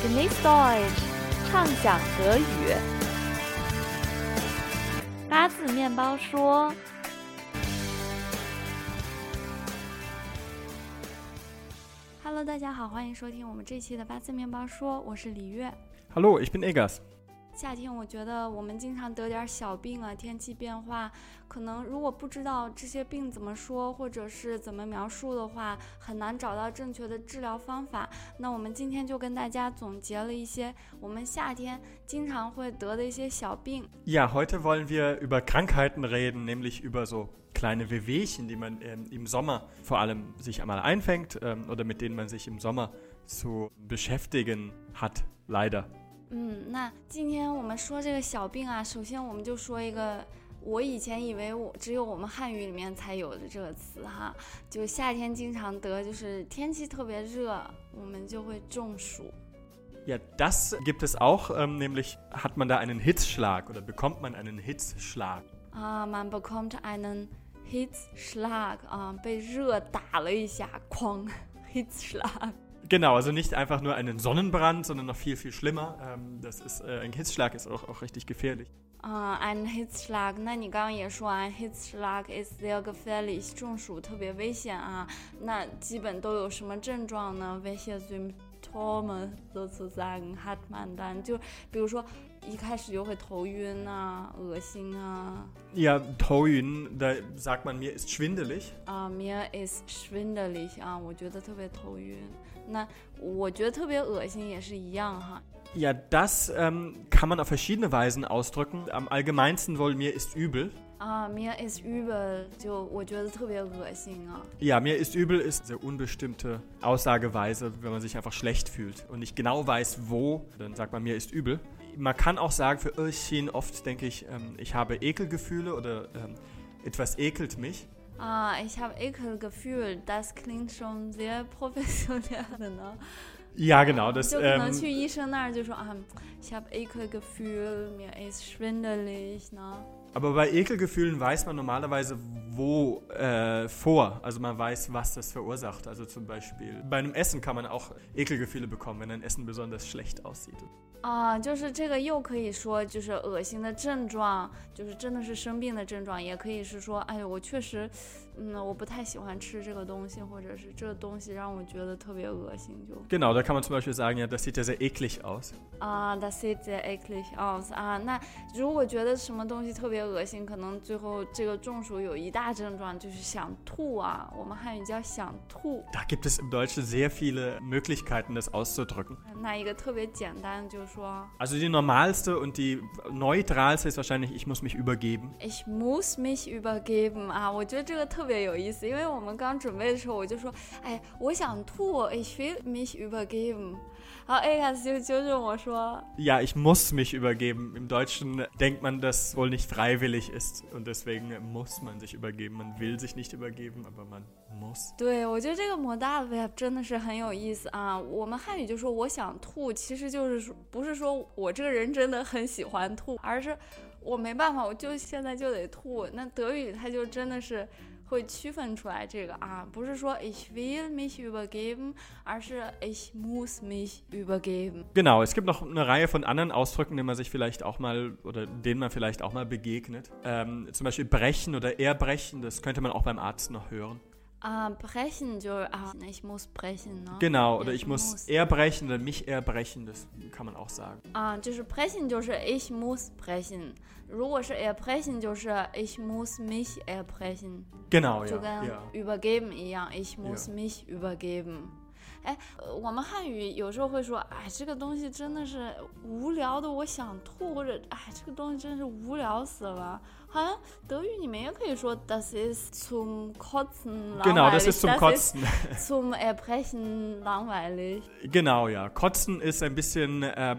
Genieß Deutsch，畅享德语。八字面包说。Hello， 大家好，欢迎收听我们这期的八字面包说，我是李月。 Hallo， ich bin Egas。 夏天我觉得我们经常得点小病啊，天气变化，可能如果不知道这些病怎么说或者是怎么描述的话，很难找到正确的治疗方法。那我们今天就跟大家总结了一些我们夏天经常会得的一些小病。 Ja, heute wollen wir über Krankheiten reden, nämlich über so kleine Wehwehchen, die man im Sommer vor allem sich einmal einfängt oder mit denen man sich im Sommer zu beschäftigen hat, leider. 那今天我们说这个小病啊，首先我们就说一个我以前以为只有我们汉语里面才有的这个词哈，就夏天经常得，就是天气特别热，我们就会中暑。 Ja, das gibt es auch, nämlich hat man da einen Hitzschlag oder bekommt man einen Hitzschlag. Man bekommt einen Hitzschlag, 被热打了一下，哐 Hitzschlag。Genau, also nicht einfach nur einen Sonnenbrand, sondern noch viel, viel schlimmer. Ein Hitzschlag ist auch richtig gefährlich. Ein Hitzschlag, 那你刚刚也说啊 Hitzschlag is sehr gefährlich, 中暑特别危险啊。那基本都有什么症状呢？ Welche Symptome sozusagen hat man dann? 就比如说一开始就会头晕啊，恶心啊。 Ja, 头晕, da sagt man, mir ist schwindelig. Mir ist schwindelig 啊，我觉得特别头晕。那我觉得特别恶心也是一样哈。 Ja, das kann man auf verschiedene Weisen ausdrücken. Am allgemeinsten wohl, mir ist übel. Mir ist übel, 就我觉得特别恶心啊。 Ja, mir ist übel ist eine unbestimmte Aussageweise, wenn man sich einfach schlecht fühlt und nicht genau weiß, wo, dann sagt man, mir ist übel. Man kann auch sagen, für Irrchen oft denke ich, ich habe Ekelgefühle oder etwas ekelt mich. Ich habe Ekelgefühl, das klingt schon sehr professionell, ne? Ja, genau. Das, 就可能去医生那儿就说ich habe Ekelgefühl, mir ist schwindelig, ne? Aber bei Ekelgefühlen weiß man normalerweise vor. Also man weiß, was das verursacht. Also zum Beispiel bei einem Essen kann man auch Ekelgefühle bekommen, wenn ein Essen besonders schlecht aussieht. 就是这个又可以说就是恶心的症状，就是真的是生病的症状，也可以是说，哎呦，我确实，我不太喜欢吃这个东西，或者是这个东西让我觉得特别恶心，就。 Genau, da kann man zum Beispiel sagen, ja, das sieht ja sehr eklig aus. Das sieht sehr eklig aus 那如果觉得什么东西特别恶心，可能最后这个中暑有一大症状就是想吐啊，我们汉语叫想吐。 Da gibt es im Deutschen sehr viele Möglichkeiten, das auszudrücken. 那一个特别简单就是说。 Also die normalste und die neutralste ist wahrscheinlich, ich muss mich übergeben. Ich muss mich übergeben 我觉得这个特别有意思，因为我们刚准备的时候我就说，我想吐 ich will mich übergeben。然后 Egas 就纠正我说 Ja, ich muss mich übergeben. Im Deutschen denkt man, dass wohl nicht freiwillig ist und deswegen muss man sich übergeben. Man will sich nicht übergeben, aber man muss. 对，我觉得这个 Modalverb 真的是很有意思啊。我们汉语就说我想吐，其实就是不是说我这个人真的很喜欢吐，而是我没办法，我就现在就得吐。那德语它就真的是会区分出来这个不是说 ich will mich übergeben, 而是 ich muss mich übergeben. Genau, es gibt noch eine Reihe von anderen Ausdrücken, denen man sich vielleicht auch mal oder denen man vielleicht auch mal begegnet. Zum Beispiel brechen oder erbrechen, das könnte man auch beim Arzt noch hören. Brechen, ich muss brechen, ne? Genau, oder ich muss erbrechen oder mich erbrechen, das kann man auch sagen. 就是 brechen 就是 ich muss brechen， 如果是 erbrechen 就是 ich muss mich erbrechen。 Genau, 就跟 übergeben 一样 ich muss mich übergeben。 我们汉语有时候会说，这个东西真的是无聊的，我想吐，或者这个东西真是无聊死了。好像德语你们也可以说 das ist zum Kotzen langweilig. Genau, das ist zum Kotzen. Zum Erbrechen langweilig. Genau, ja. Kotzen ist ein bisschen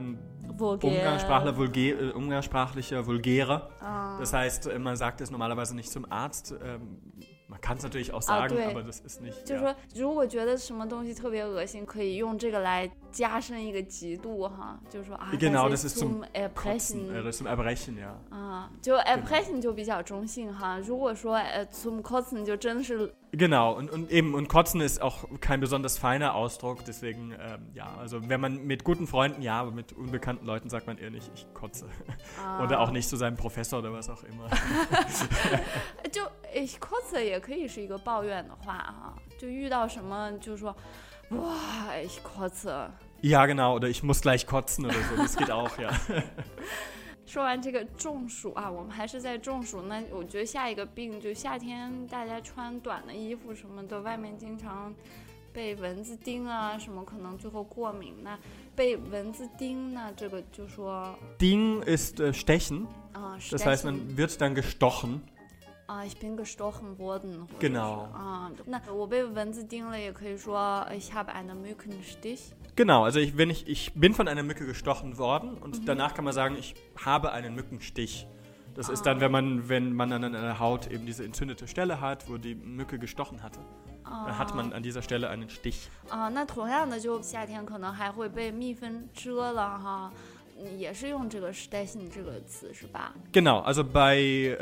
umgangssprachlicher, vulgärer. Das heißt, man sagt es normalerweise nicht zum Arzt. Man kann es natürlich auch sagen, aber das ist nicht. 就是说，如果觉得什么东西特别恶心，可以用这个来加深一个极度哈，就是说 Genau, das ist zum Erbrechen. Das ist zum Erbrechen, ja. 就 Erbrechen 就比较中性哈。如果说zum Kotzen 就真的是 Genau, und kotzen ist auch kein besonders feiner Ausdruck, deswegen, also wenn man mit guten Freunden, ja, aber mit unbekannten Leuten sagt man eher nicht, ich kotze. Oder auch nicht zu seinem Professor oder was auch immer. 就ich kotze 也可以是一个抱怨的话啊，就遇到什么就说，哇，ich kotze。 Ja, genau, oder ich muss gleich kotzen oder so, das geht auch, ja. 说完这个中暑啊，我们还是在中暑。那我觉得下一个病就夏天，大家穿短的衣服什么的，外面经常被蚊子叮啊，什么可能最后过敏。那被蚊子叮呢，这个就说 Ding ist stechen, das heißt, stechen man wird dann gestochen. ich bin gestochen worden. Genau. 那我被蚊子叮了，也可以说 ich habe einen Mückenstich. Genau, also ich bin von einer Mücke gestochen worden und danach kann man sagen, ich habe einen Mückenstich. Das ist dann, wenn man an der Haut eben diese entzündete Stelle hat, wo die Mücke gestochen hatte. Dann hat man an dieser Stelle einen Stich. 那同样的，就夏天可能还会被蜜蜂蛰了哈。也是用这个 stechen 这个词是吧？ Genau, also bei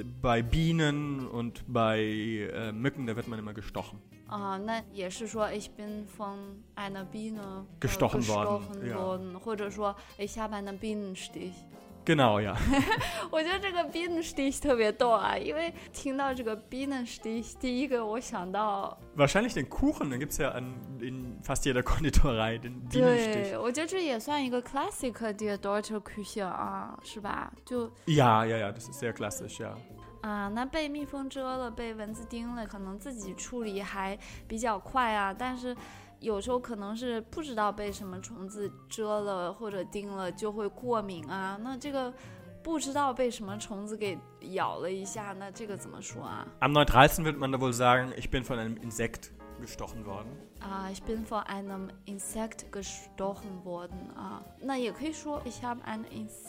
Bienen und bei Mücken, da wird man immer gestochen. 那也是说 ich bin von einer Biene gestochen worden, ja. 或者说 ich habe einen Bienenstich. Genau, ja. 我觉得这个 Bienenstich 特别逗啊，因为听到这个 Bienenstich， 第一个我想到 Wahrscheinlich den Kuchen, den gibt es ja in fast jeder Konditorei, den Bienenstich. 对，我觉得这也算一个 classic der deutsche Küche 啊，是吧？就 Ja, das ist sehr klassisch, ja. 那被蜜蜂蛰了，被蚊子叮了，可能自己处理还比较快啊，但是有时候可能是不知道被什么虫子蛰了或者叮了就会过敏啊。那这个不知道被什么虫子给咬了一下，那这个怎么说啊？ Am neutralsten wird man da wohl sagen, ich bin von einem Insekt gestochen worden. Ich bin von einem Insekt gestochen worden. 那也可以说 ich habe einen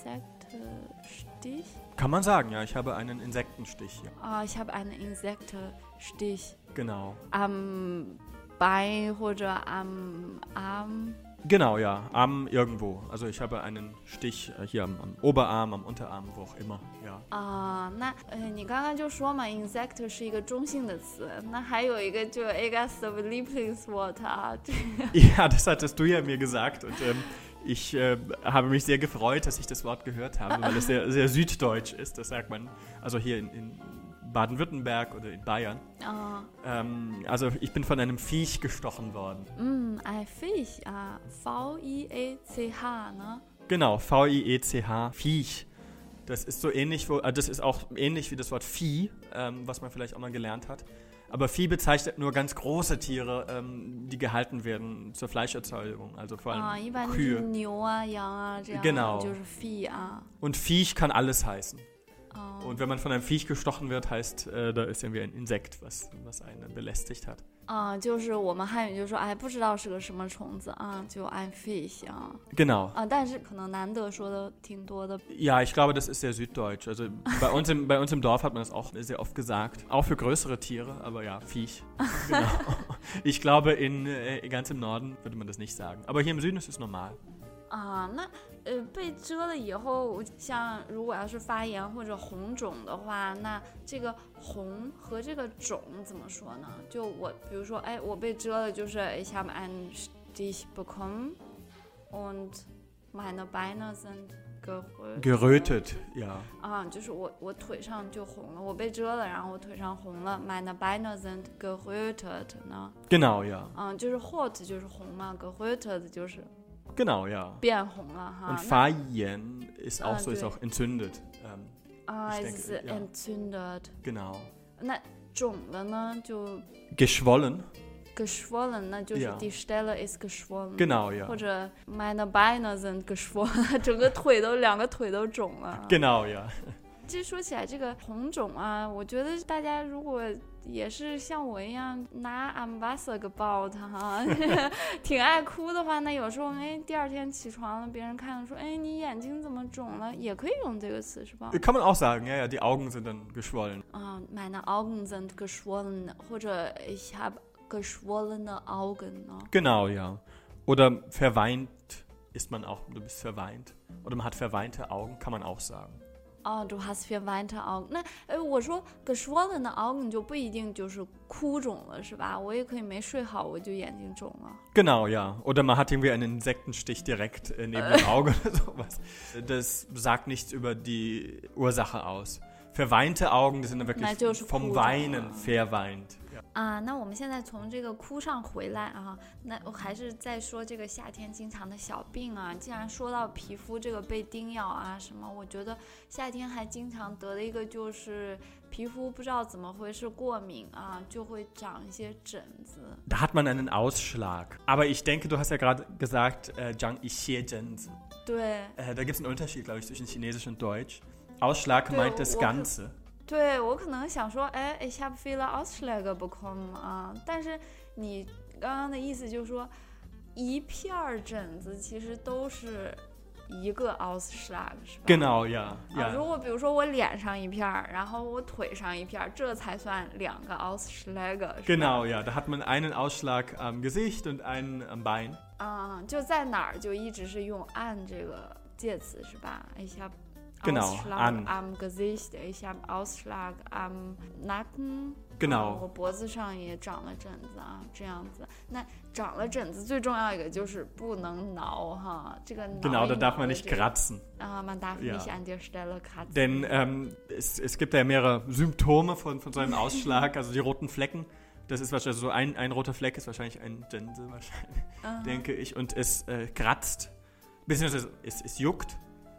Insektenstich. Kann man sagen, ja, ich habe einen Insektenstich. Ja. Ich habe einen Insektenstich. Genau. Am Bein oder am Arm. Genau, ja, Arm irgendwo. Also ich habe einen Stich hier am Oberarm, am Unterarm, wo auch immer, ja. 那你刚刚就说嘛 insect 是一个中性的词，那还有一个就 Egas of Lieblingswort 啊。 Ja, das hattest du ja mir gesagt und ich habe mich sehr gefreut, dass ich das Wort gehört habe, weil es sehr, sehr süddeutsch ist, das sagt man, also hier in Baden-Württemberg oder in Bayern. Also ich bin von einem Viech gestochen worden. Ein Viech, V-I-E-C-H, ne? Genau, V-I-E-C-H, Viech. Das ist so ähnlich, das ist auch ähnlich wie das Wort Vieh, was man vielleicht auch mal gelernt hat. Aber Vieh bezeichnet nur ganz große Tiere, die gehalten werden zur Fleischerzeugung, also vor allem Kühe. 牛啊、羊啊这样， Genau. 就是 Vieh 啊。 Und Viech kann alles heißen. Und wenn man von einem Viech gestochen wird, heißt, da ist irgendwie ein Insekt, was einen belästigt hat. 就是我们汉语就说，哎，不知道是个什么虫子啊，就 ein Fisch 啊。 Genau. 但是可能难得说的挺多的。 Ja, ich glaube, das ist sehr süddeutsch. Also bei uns im Dorf hat man das auch sehr oft gesagt. Auch für größere Tiere, aber ja, Viech. Genau. Ich glaube, ganz im Norden würde man das nicht sagen. Aber hier im Süden ist es normal. 那被蛰了以后，像如果要是发炎或者红肿的话，那这个红和这个肿怎么说呢？就我比如说，哎，我被蛰了，就是 ich habe einen Stich bekommen und meine Beine sind gerötet, ja. 就是我腿上就红了，我被蛰了，然后我腿上红了 meine Beine sind gerötet 呢？ Genau, ja. 就是 rot 就是红嘛 gerötet 就是。 Genau, ja. 变红了哈。 Und Fayen ist auch so, ist auch entzündet. Es ist entzündet. Genau. 那肿了呢就 geschwollen. Geschwollen, 那就是 die Stelle ist geschwollen. Genau, ja. 或者 meine Beine sind geschwollen, 两个腿都肿了。 Genau, ja. 这说起来这个红肿啊，我觉得大家如果也是像我一样拿 Wasser gebaut 哈，挺爱哭的话，那有时候第二天起床了，别人看了说，你眼睛怎么肿了，也可以用这个词是吧？ Kann man auch sagen, ja, die Augen sind dann geschwollen. Meine Augen sind geschwollen, 或者 ich habe geschwollene Augen. Ne? Genau, ja. Oder verweint ist man auch, du bist verweint. Oder man hat verweinte Augen, kann man auch sagen. 哦，du hast verweinte Augen。那我说 geschwollene Augen 就不一定就是哭肿了，是吧？我也可以没睡好，我就眼睛肿了。 Genau, ja. Oder man hat irgendwie einen Insektenstich direkt neben dem Auge oder sowas. Das sagt nichts über die Ursache aus. Verweinte Augen, das sind dann wirklich vom Weinen verweint. 那我们现在从这个哭上回来啊，那我还是在说这个夏天经常的小病啊。既然说到皮肤这个被叮咬啊什么，我觉得夏天还经常得的一个就是皮肤不知道怎么回事过敏啊，就会长一些疹子。 Da hat man einen Ausschlag. Aber ich denke, du hast ja gerade gesagt, Zhang Yixie-Zhenzi. 对。 Da gibt es einen Unterschied, glaube ich, zwischen Chinesisch und Deutsch. Ausschlag meint das Ganze. 对，我可能想说ich habe viele Ausschläge bekommen 啊，但是你刚刚的意思就是说一片疹子其实都是一个 Ausschlag 是吧？ Genau, ja. 如果比如说我脸上一片，然后我腿上一片，这才算两个 Ausschläge。 Genau, ja. Da hat man einen Ausschlag am Gesicht und einen am Bein. 就在哪儿就一直是用 an 这个介词是吧？ Ich habe Genau, Ausschlag am Gesicht, ich habe Ausschlag am Nacken. Genau. 我脖子上也长了疹子啊，这样子。那长了疹子最重要一个就是不能挠哈，这个挠 Genau, da darf man nicht kratzen. Man darf nicht an der Stelle kratzen. Denn es gibt ja mehrere Symptome von so einem Ausschlag, also die roten Flecken. Das ist wahrscheinlich so ein roter Fleck ist wahrscheinlich ein Zhenzi wahrscheinlich, denke ich. Und es kratzt, beziehungsweise es juckt.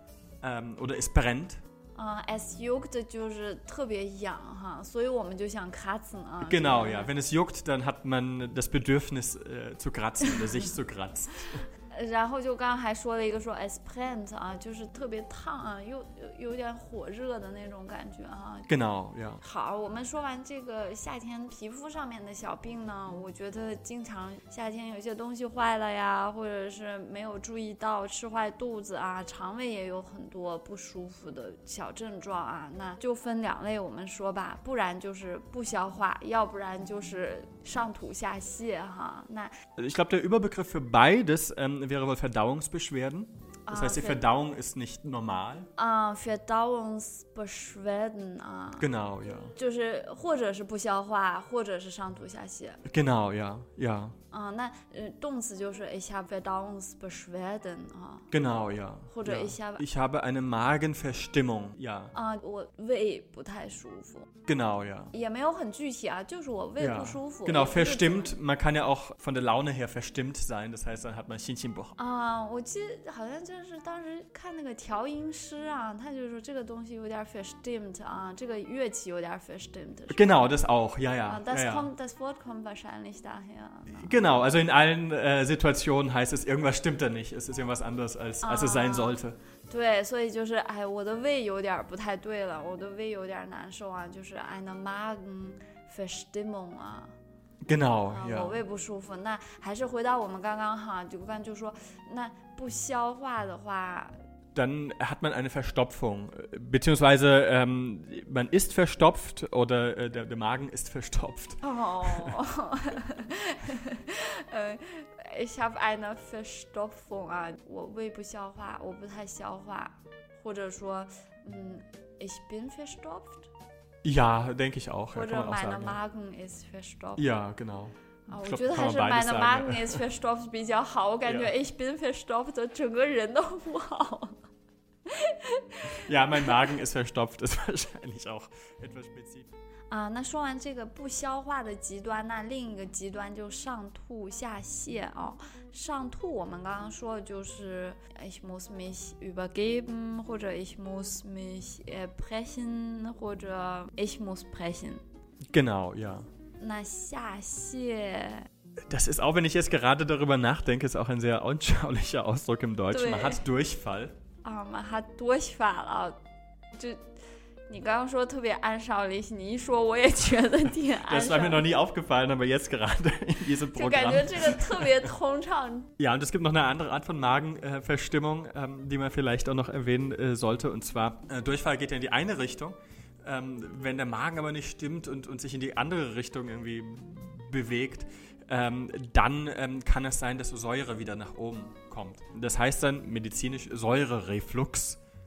Oder es brennt. Es juckt 就是特别痒哈，所以我们就想kratzen 啊。 Genau, ja. Wenn es juckt, dann hat man das Bedürfnis zu kratzen oder sich zu kratzen. 然后就刚刚还说了一个说 es brennt 啊，就是特别烫啊，又有点火热的那种感觉啊。 Genau, ja. 好，我们说完这个夏天皮肤上面的小病呢，我觉得经常夏天有些东西坏了呀，或者是没有注意到吃坏肚子啊，肠胃也有很多不舒服的小症状啊，那就分两类我们说吧，不然就是不消化，要不然就是上吐下泻哈。那 Ich glaube, der Überbegriff für beides wäre wohl Verdauungsbeschwerden. Das heißt, die Verdauung ist nicht normal. Verdauungsbeschwerden 啊。 Genau, ja. 就是或者是不消化，或者是上吐下泻。 Genau, ja, ja. 那动词就是 ich habe Verdauungsbeschwerden 啊。 Genau, ja. 或者 ja. Ich habe eine Magenverstimmung, ja. 我胃不太舒服。 Genau, ja. 也没有很具体啊，就是我胃不舒服。 Genau, verstimmt. Man kann ja auch von der Laune her verstimmt sein. Das heißt, dann hat man 心情不好。 我记得好像就是当时看那个调音师啊，他就说这个东西有点 verstimmt 啊，这个乐器有点 verstimmt。 Genau, das auch, ja, ja. Das Wort kommt wahrscheinlich daher. Genau, also in allen Situationen heißt es, irgendwas stimmt da nicht. Es ist irgendwas anderes, als es sein sollte. 对，所以就是我的胃有点不太对了，我的胃有点难受啊，就是 eine Magenverstimmung 啊。 Genau, ja. 我胃不舒服。那还是回到我们刚刚哈，就说那不消化的话。 Dann hat man eine Verstopfung, beziehungsweise man ist verstopft oder der Magen ist verstopft. Ich habe eine Verstopfung 啊，我胃不消化，我不太消化，或者说ich bin verstopft. Ja, denke ich auch. Oder ja, meine sagen, Magen ist verstopft. Ja, genau. 我觉得还是 meine Magen ist verstopft 比较好，我感觉 ich bin verstopft 整个人都不好。 Ja, mein Magen ist verstopft, ist wahrscheinlich auch etwas spezifisch. 那说完这个不消化的极端，那另一个极端就上吐下泻哦。上吐我们刚刚说的就是 ich muss mich übergeben 或者 ich muss mich brechen 或者 ich muss brechen. Genau, ja. 那下泻 Das ist auch, wenn ich jetzt gerade darüber nachdenke, ist auch ein sehr anschaulicher Ausdruck im Deutschen. Man hat Durchfall. man hat Durchfall 啊，就你刚刚说特别anschaulich，你一说我也觉得挺anschaulich。 Das war mir noch nie aufgefallen, aber jetzt gerade in diesem Programm. 就感觉这个特别通畅。 Ja, und es gibt noch eine andere Art von Magenverstimmung, die man vielleicht auch noch erwähnen sollte. Und zwar, Durchfall geht ja in die eine Richtung. Wenn der Magen aber nicht stimmt und sich in die andere Richtung irgendwie bewegt, dann kann es sein, dass Säure wieder nach oben kommt. Das heißt dann medizinisch Säurereflux.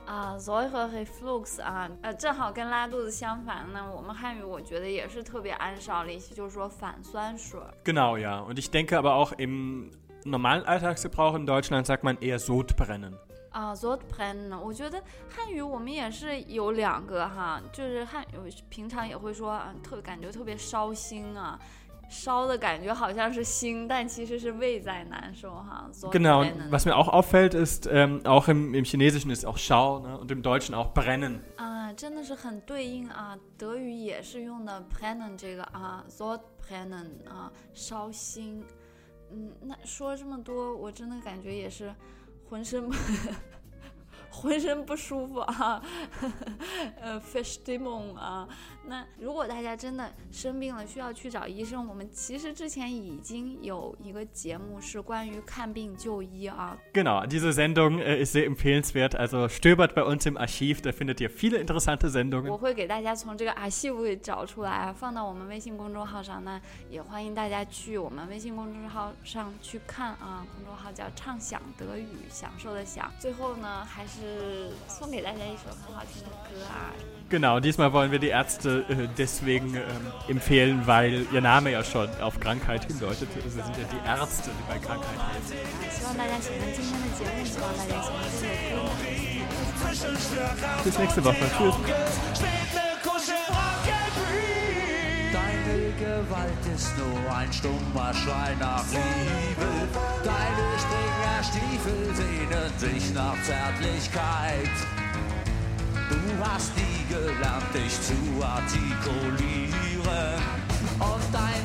Säure-Reflux 正好跟拉肚子相反呢。我们汉语我觉得也是特别anschaulich，就是说反酸水。 Genau, ja. Und ich denke aber auch im normalen Alltagsgebrauch in Deutschland sagt man eher Sodbrennen. Sodbrennen， 我觉得汉语我们也是有2个哈，就是汉语平常也会说感觉特别烧心啊。烧的感觉好像是心，但其实是胃在难受哈。 Genau, und was mir auch auffällt, ist, auch im Chinesischen ist auch Schau, ne? Und im Deutschen auch brennen. 真的是很对应啊，德语也是用的 brennen 这个Sodbrennen 烧心。那说这么多，我真的感觉也是浑身不舒服啊，Verstimmung 啊。那如果大家真的生病了，需要去找医生，我们其实之前已经有一个节目是关于看病就医啊。 Genau, diese Sendung ist sehr empfehlenswert. Also stöbert bei uns im Archiv, da findet ihr viele interessante Sendungen. 我会给大家从这个 Archiv 给找出来，放到我们微信公众号上呢，也欢迎大家去我们微信公众号上去看啊。公众号叫畅想德语，享受的享。最后呢，还是送给大家一首很好听的歌啊。 Genau, diesmal wollen wir die Ärzte deswegen empfehlen, weil ihr Name ja schon auf Krankheit hindeutet. Sie sind ja die Ärzte, die bei Krankheit helfen. 希望大家喜欢今天的节目，希望大家喜欢这首歌。 Bis nächste Woche. Tschüss. Deine Gewalt ist nur ein stummer Schrei nach Liebe. Deine Springerstiefel sehnen sich nach Zärtlichkeit. Du hast nie gelernt, dich zu artikulieren. Und dein